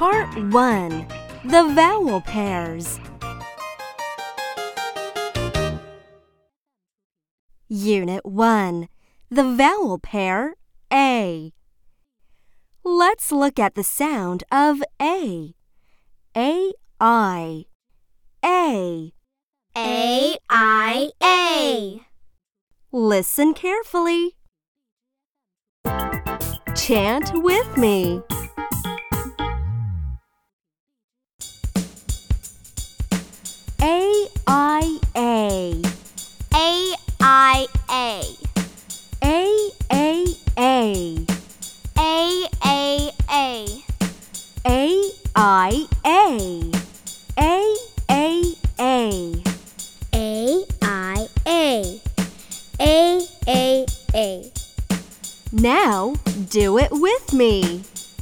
Part 1. The Vowel Pairs. Unit 1. The vowel pair A. Let's look at the sound of A. A-I. A. A-I-A. Listen carefully. Chant with me. A-I-A. A-I-A. A-A-A. A-A-A. A-I-A. A-A-A. A-I-A. A-A-A. Now do it with me.